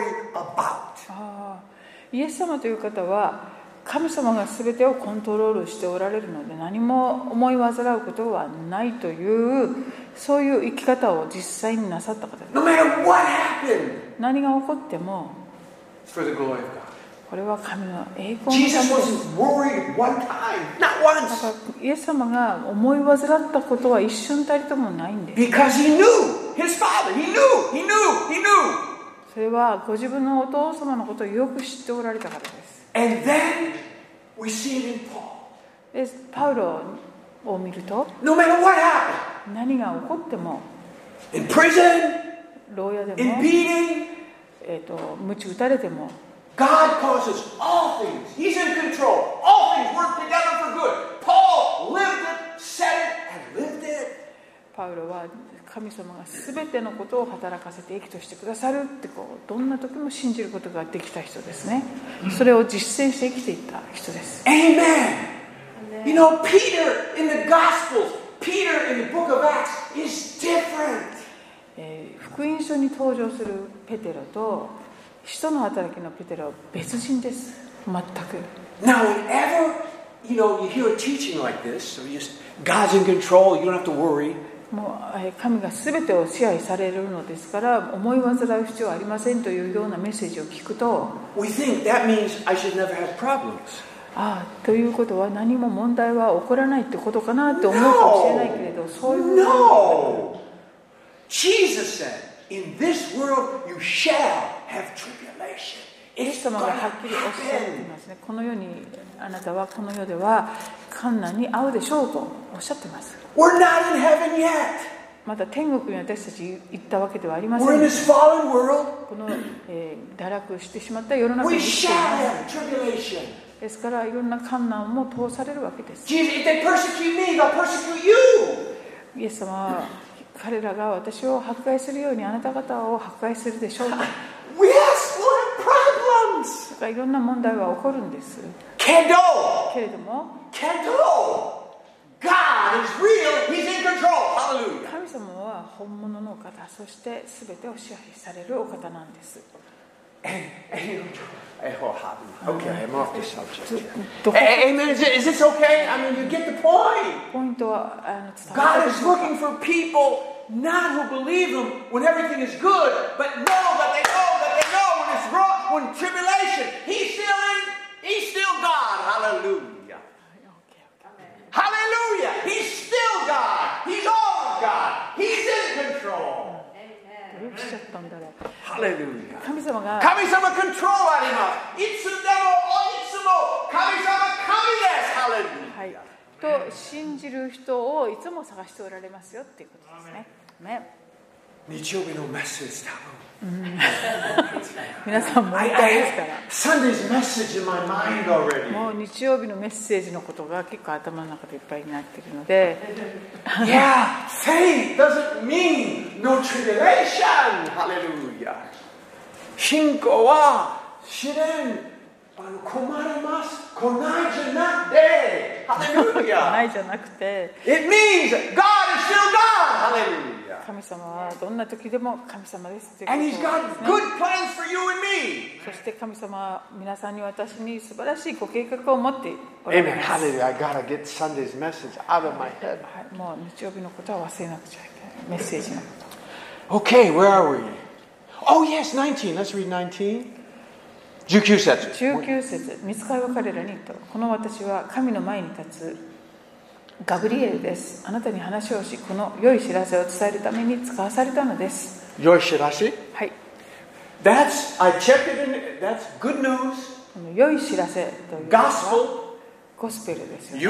S1: about.
S2: イエス様という方は神様が全てをコントロールしておられるので、何も思い煩うことはないという、そういう生き方を実際になさった方です。
S1: No matter what happened,
S2: 何が起こっても
S1: it's for the glory of God.
S2: これは神の栄光のためです。
S1: Jesus wasn't worried one time, not once.
S2: だからイエス様が思い煩ったことは一瞬たりともないんです。
S1: Because he knew his Father. He knew.
S2: それはご自分のお父様のことをよく知っておられたからです。
S1: And then we see it in Paul.
S2: でパウロを見ると、
S1: No matter what happened,
S2: 何が起こっても、
S1: in prison,
S2: 牢屋で
S1: in
S2: も、
S1: beating,
S2: 鞭打たれても、
S1: God causes all things. He's in control. All things work together for good. Paul lived it, said it, and lived it.
S2: パウロは神様が全てのことを働かせて益としてくださるってどんな時も信じることができた人ですね。それを実践して生きていった人です。
S1: Amen. You know, Peter in the Gospels, Peter in the book of Acts is different.
S2: 福音書に登場するペテロと使徒の働きのペテロは別人です。全く。
S1: Now, whenever you hear a teaching like this, so God's in control, you don't have to worry.
S2: もう神が全てを支配されるのですから思い煩う必要はありませんというようなメッセージを聞くと、
S1: We think that means I should never have problems.
S2: ということは何も問題は起こらないってことかなって思うかもしれないけれど、そういう
S1: No. Jesus said, "In this world you shall have tribulation."
S2: イエス様がはっきりおっしゃっていますね。この世にあなたはこの世では困難に遭うでしょうとおっしゃっています。
S1: We're not in heaven yet.
S2: まだ天国に私たち行ったわけではありません。
S1: We're in this fallen world.
S2: この、堕落してしまった世の中
S1: We
S2: に生きてい
S1: shall
S2: ます。
S1: have tribulation.
S2: ですからいろんな困難も通されるわけです。
S1: Jesus, if they persecute me, they'll persecute you.
S2: イエス様は彼らが私を迫害するようにあなた方を迫害するでしょうと。
S1: Yes, we'll have problems.
S2: だからいろんな問題は起こるんです。
S1: Kendo.
S2: けれども
S1: Kendo. God is real. He's in control. Hallelujah.
S2: 神様は本物のお方、そして全てを支配されるお方なんです。
S1: Okay, I'm off the subject. Amen. Is this okay? I mean, you get the point.
S2: ポイントは伝わ
S1: God
S2: ったで
S1: is
S2: しょうか。
S1: looking for people not who believe Him when everything is good, but know that they know when it's wrong, when tribulation. He's still God. Hallelujah. Hallelujah. He's still God. He's all God. He's in control.
S2: どうしちゃったんだろう。
S1: Hallelujah.
S2: 神様が
S1: 神様コントロールあります。いつでもいつも神様神です。ハレルヤ。
S2: はい。と信じる人をいつも探しておられますよっていうことですね。ね。
S1: 日曜日のメッセージ多分。
S2: 皆さんもいたいですから。
S1: Sunday's message in my mind already.
S2: もう日曜日のメッセージのことが結構頭の中でいっぱいになっているので。
S1: Yeah, faith doesn't mean no tribulation. Hallelujah. 信仰は試練困ります来ないじゃなくて Hallelujah.
S2: ないじゃなくて。
S1: It means God is still God. Hallelujah.
S2: 神様はどんな時でも神様ですということ
S1: And
S2: で
S1: He's
S2: す
S1: got
S2: ね。
S1: good plans for you and me.
S2: そして神様は皆さんに私に素晴らしいご計画を持っておられ
S1: Amen.
S2: ます。
S1: Hallelujah. I gotta get Sunday's message out of my head.
S2: はい、もう日曜日のことは忘れなくちゃいけない。メッセージのこと。
S1: Okay, where are we? Oh, yes, 19. Let's read 19. 19節。
S2: 19節、御使いは彼らに言った。この私は神の前に立つガブリエルです。あなたに話をし、この良い知らせを伝えるために使わされたのです。
S1: 良い知らせ？
S2: はい。
S1: I checked it in, that's good news.
S2: この良い知らせというのは
S1: Gospel.
S2: ゴスペルですよね。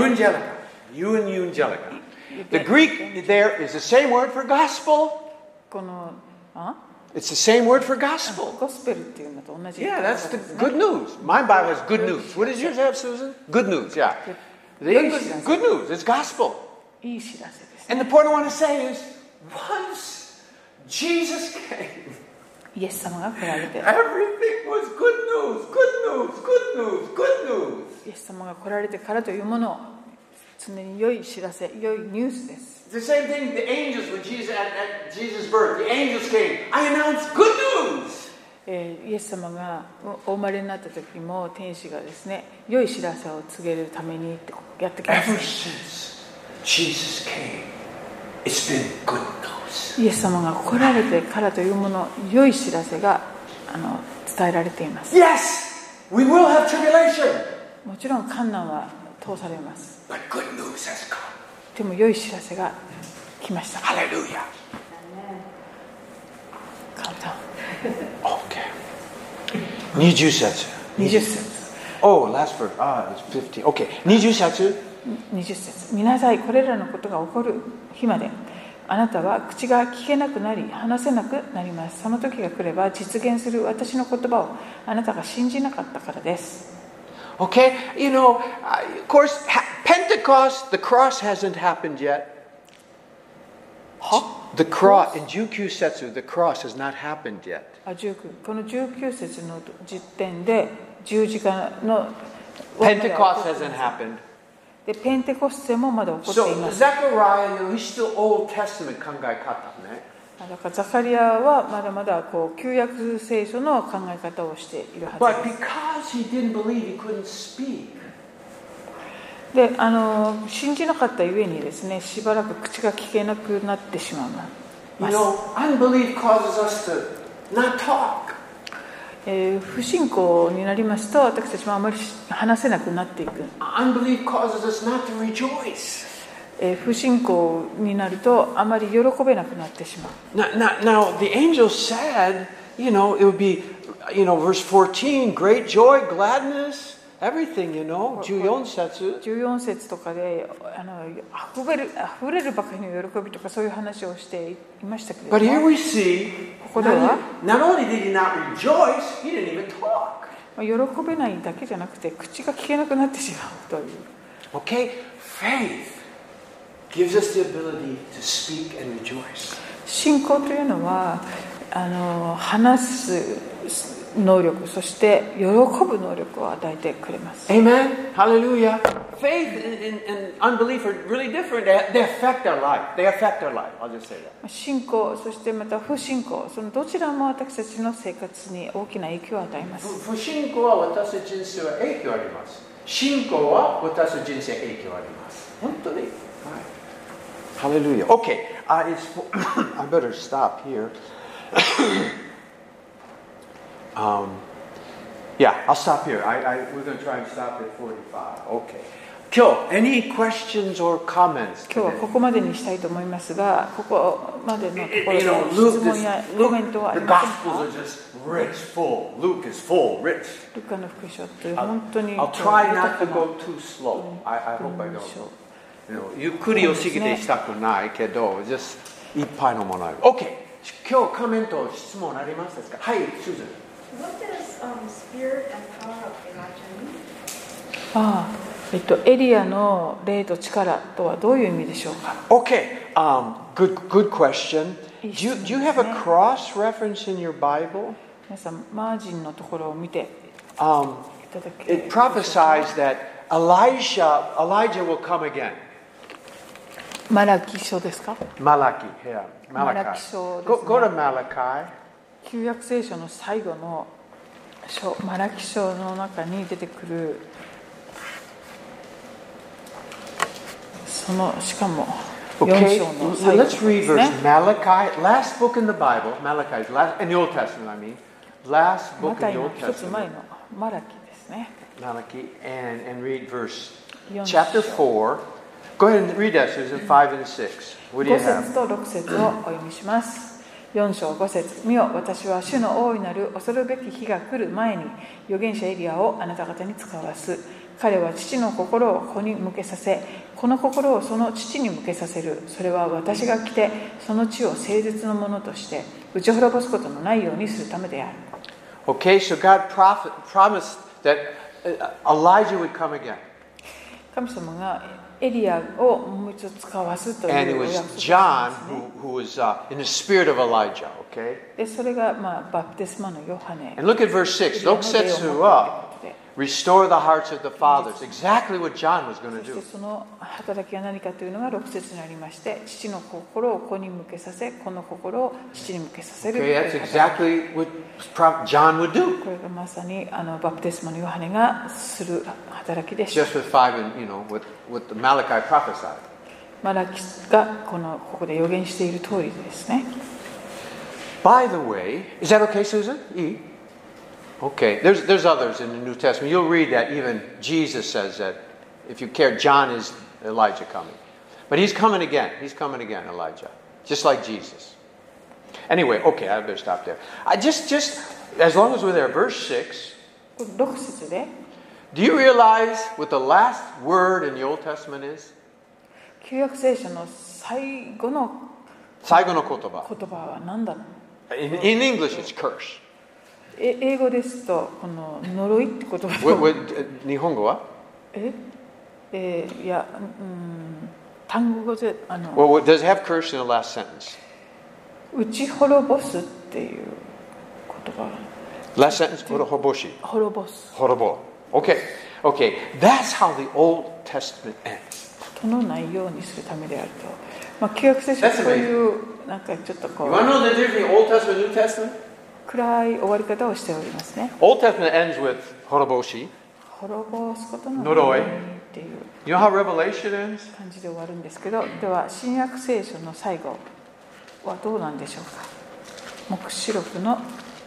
S1: Evangelica. The Greek there is the same word for gospel.
S2: この
S1: It's the same word for gospel.
S2: ゴスペルっていうのと同じ。
S1: Yeah, that's the good news. My Bible has good news. What does yours have, Susan? Good news, yeah. The English, good news. It's gospel.
S2: いい知らせです。
S1: And the point I want to say is, once Jesus came,
S2: イエス様が来られて、
S1: everything was good news, good news, good news, good news.
S2: イエス様が来られてからというもの、常に良い知らせ、良いニュースです。
S1: It's the same thing, the angels, when Jesus, at Jesus' birth, the angels came. I announced good news.
S2: イエス様がお生まれになった時も天使がですね、良い知らせを告げるためにやってきま
S1: Ever
S2: す。
S1: since Jesus came, it's been good news.
S2: イエス様が来られてからというもの、良い知らせが伝えられています。
S1: Yes, we will have tribulation.
S2: もちろん困難は通されます。
S1: But good news has come.
S2: でも良い知らせが来ました。
S1: Hallelujah.
S2: 簡単。
S1: Okay. 20節。
S2: 20節。
S1: Oh, last verse. It's 15. Okay. 20節。
S2: 20節。見なさい、これらのことが起こる日まで。あなたは口が聞けなくなり、話せなくなります。その時が来れば実現する私の言葉をあなたが信じなかったからです。
S1: Okay, you know, of course, Pentecost, the cross hasn't happened yet. The cross, in 19節, the cross has not happened yet.
S2: この19節の時点で十字架の
S1: Pentecost hasn't happened.
S2: でペンテコステもまだ起こっていま
S1: So
S2: す。
S1: Zechariah, you know, he's still Old Testament 考え方ね。
S2: だからザカリアはまだまだ旧約聖書の考え方をしているは
S1: But
S2: ずです。
S1: because he didn't believe, he couldn't speak.
S2: で信じなかったゆえにですね、しばらく口が聞けなくなってしまう
S1: You
S2: ま
S1: know, unbelief causes us to not talk.
S2: す。不信仰になりますと、私たちもあまり話せなくなっていく。
S1: Unbelief causes us not to rejoice.
S2: 不信仰になるとあまり喜べなくなってしまう。
S1: Now, the angel said, you know, it would be, you know, verse 14, great joy, gladness, everything, you know, 14節。
S2: 14節とかで溢れるばかりの喜びとかそういう話をしていましたけれど
S1: But here
S2: も、
S1: we see,
S2: ここでは
S1: not only did he not rejoice, he didn't even talk.
S2: 喜べないだけじゃなくて口が聞けなくなってしまうという。
S1: Okay, faith gives us the ability to speak and rejoice.
S2: 信仰というのは話す能力、そして喜ぶ能力を与えてくれます。
S1: Amen. Hallelujah. Faith and unbelief are really different. They affect our life. They affect our life. I'll just say that.
S2: 信仰、そしてまた不信仰、そのどちらも私たちの生活に大きな影響を与えます。
S1: 不信仰は私の人生は影響あります。信仰は私の人生影響あります。本当に。はい。Hallelujah. Okay. I better stop here. Yeah, I'll stop here. We're going to try and stop at 45. Okay. Kyo, any questions or comments
S2: 今日は
S1: today?
S2: ここまでにしたいと思いますが、ここまでのところ
S1: You
S2: で
S1: know,
S2: 質問やコメントはあり
S1: the
S2: ません
S1: Gospels
S2: か？
S1: are just rich, full. Luke is full, rich.
S2: ルカの福音書って本当に
S1: I'll try not
S2: 豊
S1: to
S2: か
S1: go
S2: な
S1: too slow. I hope I don't.
S2: 文章。
S1: You know, ゆっくりを過ぎてしたくないけど、just いっぱいのものある。OK。今日コメント、質問ありますか？はい、Susan。
S3: What does spirit and power of Elijah mean?
S2: エリアの霊と力とはどういう意味でしょうか？
S1: Okay, good question. Do you have a cross reference in your Bible?
S2: 皆さん、マージンのところを見ていただけ
S1: It prophesies that Elijah will come again.
S2: マラキ書ですか？
S1: Malachi, yeah.
S2: マラ
S1: Malachi.
S2: キ書ですね。
S1: Go to Malachi.
S2: 旧約聖書の最後の書、マラキ書の中に出てくる、そのしかも4
S1: Okay,
S2: 章の最後
S1: let's
S2: です
S1: read
S2: ね。
S1: verse Malachi, last book in the Bible. Malachi is last in the Old Testament, I mean. Last
S2: マ
S1: book
S2: タ
S1: in
S2: イ
S1: the
S2: の
S1: Old
S2: 一つ前
S1: Testament.
S2: のマラキですね。
S1: Malachi, and read verse
S2: 4
S1: chapter
S2: 章
S1: 4. Go ahead and read that, Susan, 5 and 6. What do you
S2: 5
S1: have?
S2: 節と6節をお読みします。4章5節、見よ、私は主の大いなる恐るべき日が来る前に預言者エリアをあなた方に使わす。彼は父の心を子に向けさせ、この心をその父に向けさせる。それは私が来てその地を誠実のものとして打ち滅ぼすことのないようにするためである。
S1: Okay, so God promised that Elijah would come again.
S2: 神様がエリアをもう一度使わすと
S1: And
S2: い
S1: it
S2: うお
S1: was
S2: 約束をし
S1: John
S2: ますね。
S1: who was in the spirit of Elijah, okay?
S2: でそれが、バプテスマのヨハネ。
S1: And look at verse 6. 6節は Restore the hearts of the fathers. Exactly what John was going to
S2: そして
S1: do.
S2: その働きが何かというのが6節にありまして、父の心を子に向けさせ、子の心を父に向けさせると
S1: Okay,
S2: いう
S1: that's
S2: 働き。
S1: exactly what John would do.
S2: これがまさにバプテスマのヨハネがする働きでした。
S1: Just with 5 and, what the Malachi prophesied.
S2: マラキがここで予言している通りですね。
S1: By the way, is that okay, Susan? E? Okay, there's others in the New Testament. You'll read that even Jesus says that, if you care, John is Elijah coming. But he's coming again. He's coming again, Elijah. Just like Jesus. Anyway, okay, I better stop there. I just as long as we're there, verse 6.
S2: 6節で
S1: Do you realize what the last word in the Old Testament is?
S2: 旧約聖書の最後の
S1: 最後の言葉。
S2: 言葉は何だろう。
S1: In English, it's curse.
S2: 英語ですとこの呪いって言葉と
S1: 日本語は？
S2: いや、単語で
S1: Well, does it have curse in the last sentence?
S2: 打ち滅ぼすっていう言葉。
S1: Last sentence, 滅ぼし。
S2: 滅ぼす。
S1: 滅ぼ。Okay, that's how the Old Testament ends.
S2: とのないようにするためであると。旧約聖書はそういうなんかちょっとこう。
S1: You want to know the difference between Old Testament and New Testament?
S2: 暗い終わり方をしておりますね。
S1: Old Testament ends with 滅ぼし。
S2: 滅ぼすことの
S1: 呪い
S2: っていう
S1: You know how Revelation ends?
S2: 感じで終わるんですけど、では新約聖書の最後はどうなんでしょうか。黙示録の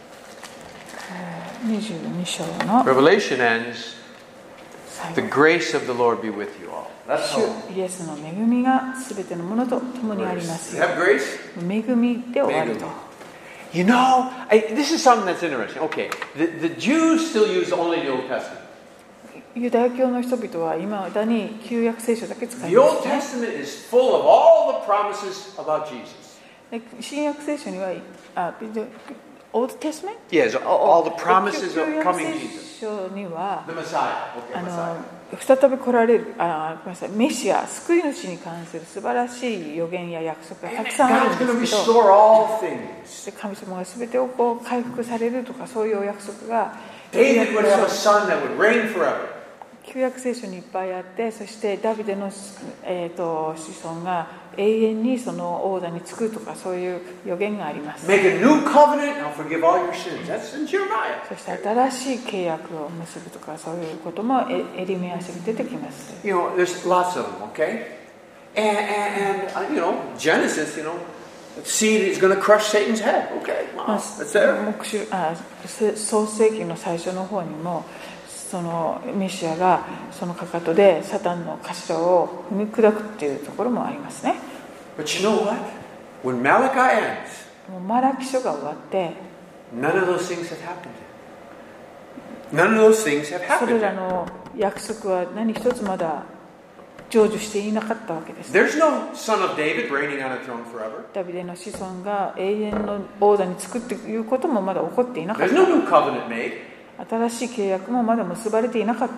S2: 22章の
S1: Revelation ends,
S2: 最
S1: the
S2: 後。
S1: grace of the Lord be with you all. That's
S2: 主イエスの恵みがすべてのものと共にあります
S1: You
S2: よ。
S1: have grace?
S2: 恵みで終わると。
S1: You know, this is something that's interesting. Okay, the Jews still use only the Old Testament.
S2: ユダヤ教の人々は今だに旧約聖書だけ使い
S1: The
S2: ま
S1: Old
S2: すね。
S1: Testament is full of all the promises about Jesus.
S2: で新約聖書にはOld Testament?
S1: Yes, all the promises
S2: 旧
S1: of
S2: 約
S1: coming
S2: 聖
S1: Jesus.
S2: 書には
S1: The Messiah. Okay, Messiah.
S2: 再び来られるごめんなさい、メシア、救い主に関する素晴らしい予言や約束がたくさんある
S1: God's
S2: ん
S1: going
S2: で
S1: to
S2: すけど、
S1: restore all things.
S2: で神様が全てを回復されるとかそういうお約束が
S1: David would have a son that would reign forever.
S2: 旧約聖書にいっぱいあって、そしてダビデの、子孫が永遠にその王座につくとかそういう予言があります。
S1: Make a new covenant, I'll forgive all your sins. That's in Jeremiah.
S2: そして新しい契約を結ぶとかそういうこともエリメア書に出てきます。
S1: You know, there's lots of them, okay? And Genesis, the seed is going to crush Satan's head. Okay, wow, that's there.
S2: 創世記の最初の方にもそのメシアがそのかかとでサタンの頭を踏み砕くっていうところもありますね。
S1: But you know what? When Malachi ends,
S2: もうマラキ書が終わって
S1: none of those things have happened yet. None of those things have
S2: そ
S1: happened
S2: れら
S1: yet.
S2: の約束は何一つまだ成就していなかったわけです。
S1: There's no son of David reigning on a throne forever.
S2: ダビデの子孫が永遠の王座につくっていうこともまだ起こっていなかっ
S1: There's
S2: た。
S1: no new covenant made.
S2: 新しい契約もまだ結ばれていなかった。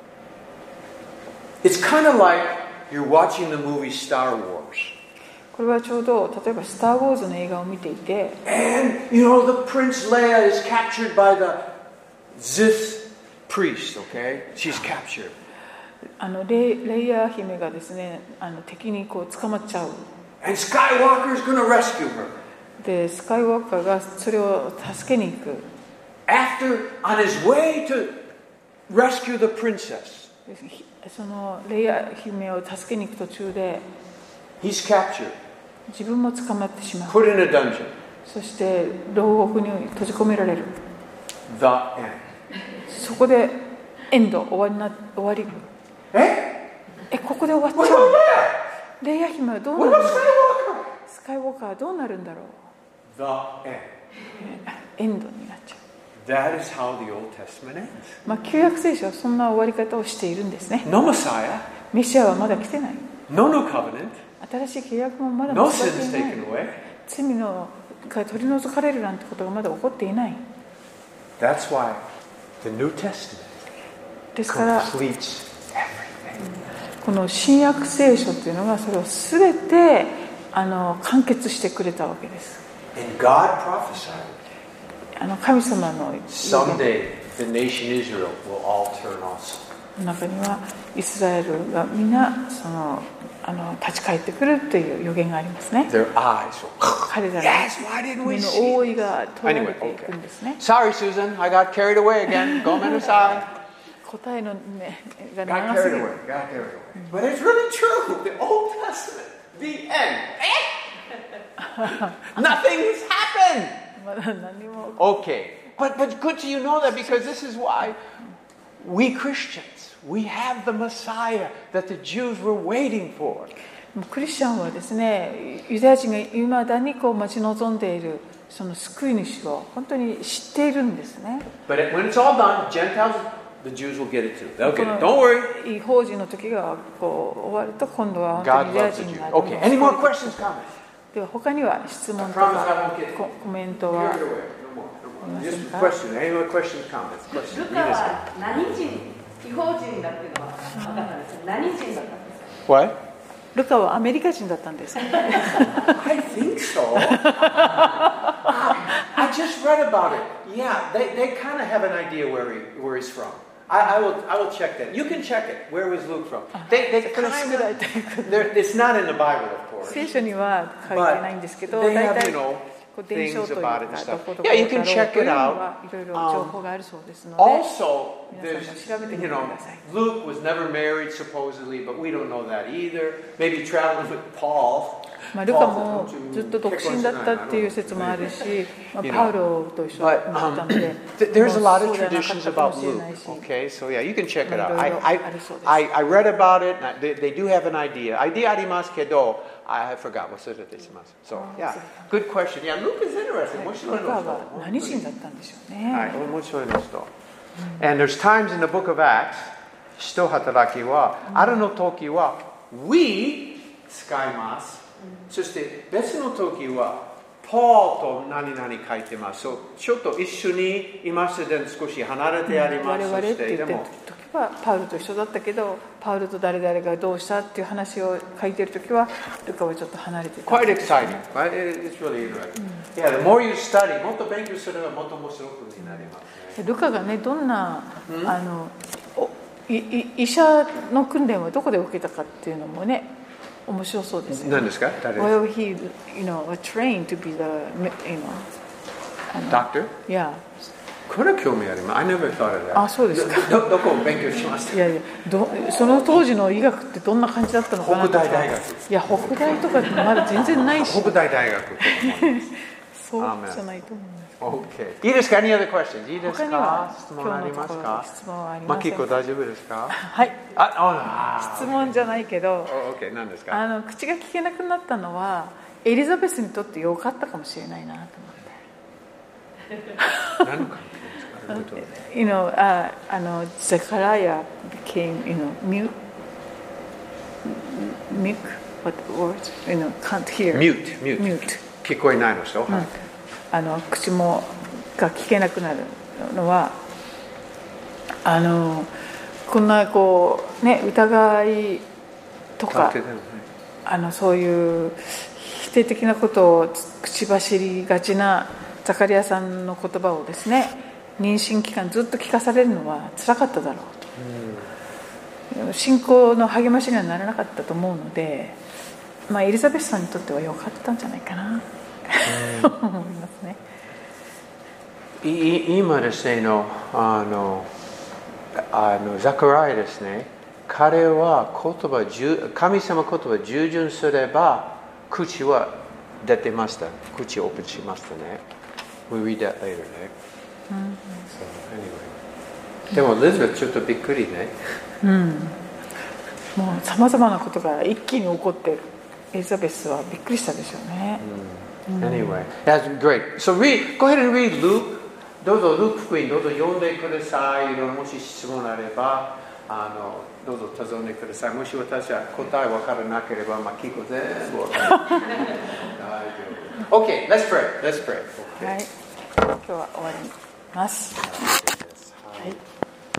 S1: It's kind of like you're watching the movie Star Wars.
S2: これはちょうど例えばスター・ウォーズの映画を見ていて、
S1: And, the Prince Leia is captured by the Sith priest, okay? She's captured.
S2: レイヤー姫がですね、敵に捕まっちゃう。
S1: And Skywalker is going to rescue her.
S2: で、スカイウォーカーがそれを助けに行く。
S1: After, on his way to rescue the princess,
S2: そのレイヤー姫を助けに行く途中で
S1: he's captured,
S2: 自分も捕まってしまう。
S1: put in a dungeon.
S2: そして牢獄に閉じ込められる。
S1: The end.
S2: そこでエンド、終わり。ここで終わっちゃう。レイヤー姫はどうなるんだろう。スカイウォーカーはどうなるんだろう。
S1: The end.
S2: エンドになっちゃう。
S1: That is how the Old Testament ends.
S2: 旧約聖書はそんな終わり方をしているんですね。
S1: No Messiah,
S2: メシアはまだ来てない。
S1: no new covenant,
S2: 新しい契約もまだ
S1: no
S2: 結ばれ
S1: sins
S2: ていない。
S1: taken away.
S2: 罪のから取り除かれるなんてことがまだ起こっていない。
S1: That's why the New Testament
S2: ですから
S1: completes everything.
S2: この新約聖書というのがそれを全て完結してくれたわけです。
S1: And God prophesied
S2: 神様の
S1: someday the nation Israel will all turn also.
S2: 中にはイスラエルがみんな立ち返ってくるという予言がありますね。
S1: Their eyes will.
S2: 彼らの
S1: Yes, why didn't
S2: 目
S1: we
S2: の
S1: see?
S2: 覆いが取られていくんですね。
S1: Sorry, Susan, I got carried away again. Go aside.
S2: 答えの目が
S1: Got
S2: 長す
S1: carried
S2: ぎる。
S1: away. Got carried away. But it's really true. The Old Testament, the end. Nothing has happened.
S2: まだ何も
S1: Okay, but good to you know that because this is why we Christians, we have the Messiah that the Jews were waiting for.
S2: クリスチャンはですね、ユダヤ人がいまだに待ち望んでいるその救い主を本当に知っているんですね。
S1: But when it's all done, Gentiles, the Jews will get it too. They'll get it. Don't worry.
S2: 違法人の時が終わると今度は本当
S1: God
S2: にユダヤ
S1: loves the
S2: 人
S1: Jews.
S2: が
S1: Okay, any more questions, comments?
S2: では他には質問と
S1: I promise
S2: か
S1: I won't get
S2: コメント
S1: carried
S2: は
S1: away. No more. No more. Just question. Any more questions, comments?
S4: ル
S1: Questions?
S4: カは何人、違法人だっていうのは分かったんですよ。何人だったんですか。
S1: What?
S2: ルカはアメリカ人だったんです。
S1: I think so. I just read about it. Yeah, they kind of have an idea where he's from. I will check that. You can check it. Where was Luke from? They kind of. It's not in the Bible, of course.
S2: 聖書には書いてないんですけど、
S1: They
S2: 大
S1: have,
S2: 体
S1: you know,
S2: 伝承というか
S1: things about it and
S2: ど
S1: stuff.
S2: こどこ
S1: Yeah, you
S2: だ
S1: can
S2: ろう
S1: check
S2: という
S1: it
S2: の
S1: out.
S2: はいろいろ情報があるそうですので、
S1: Also,
S2: 皆
S1: there's,
S2: さんも調べてみ
S1: you
S2: てく
S1: know,
S2: ださい。
S1: Luke was never married supposedly, but we don't know that either. Maybe traveling with Paul.
S2: ルカもずっと独身だったっていう説もあるし、パウロと一緒になったので、
S1: There's a lot of
S2: そうではなかっ
S1: traditions
S2: たか
S1: about
S2: もしれ
S1: Luke.
S2: ないし、
S1: Okay, so yeah, you can check it out.
S2: いろいろありそうです。
S1: I read about it. They do have an idea. Idea ありますけど、I forgot. 忘れてしました。So yeah, good question. Yeah, Luke is interesting. 面白い
S2: ルカ
S1: の人。
S2: は何人だったんでしょうね。
S1: はい、面白いの人。And there's times in the book of Acts, 使徒働きは、あるの時は、we 使います。そして別の時は、Paul と何々書いてます。ちょっと一緒にいますで少し離れてあります。
S2: 我々って言ってる時はパウルと一緒だったけど、パウルと誰々がどうしたっていう話を書いてる時はルカはちょっと離れてた。
S1: Quite exciting. Right? It's really interesting. Yeah, the more you study, もっと勉強すればもっと面白くなりますね。
S2: ルカがね、どんな医者の訓練をどこで受けたかっていうのもね、面白そうですよね。
S1: 何ですか？誰？
S2: Well, he, was trained to be the,
S1: Doctor?
S2: Yeah.
S1: これ興味あります。I never thought of that.
S2: あ、そうですか。
S1: どこを勉強しました？
S2: いやいや、その当時の医学ってどんな感じだったのかなとか。
S1: 北大大学。
S2: いや、北大とかまだ全然ないし。
S1: 北大大学とかも。
S2: そうじゃないと思うんです。
S1: Okay. いいですか？ Any other questions? いいです
S2: 他には
S1: か？質問ありますか？
S2: 質問はあり
S1: マ
S2: ません。
S1: キコ大丈夫ですか？
S2: はい。質問じゃないけど、
S1: Okay. 何ですか？
S2: 口が聞けなくなったのはエリザベスにとって良かったかもしれないなと思って。
S1: 何の関係ですか？
S2: Zechariah became, mute. What words? Can't hear.
S1: Mute. 聞こえないの人。
S2: 口もが聞けなくなるのはこんな疑いとかそういう否定的なことを口走りがちなザカリアさんの言葉をですね、妊娠期間ずっと聞かされるのは辛かっただろうと、信仰の励ましにはならなかったと思うので、エリザベスさんにとっては良かったんじゃないかなと思いますね。
S1: 今ですねザカライですね、彼は神様言葉従順すれば口は出てました。口をオープンしましたね。We read that later ね。So, anyway. でもエリザベスちょっとびっくりね。
S2: もうさまざまなことが一気に起こってエリザベスはびっくりしたでしょうね。
S1: Anyway, that's great. So go ahead and read Luke. どうぞルーク福音どうぞ読んでください。もし質問あれば、 どうぞ尋ねてください。もし私は答え分からなければ、聞く全部分かる。大丈夫。Okay, let's pray. Let's pray.
S2: はい。今日は終わります。はい。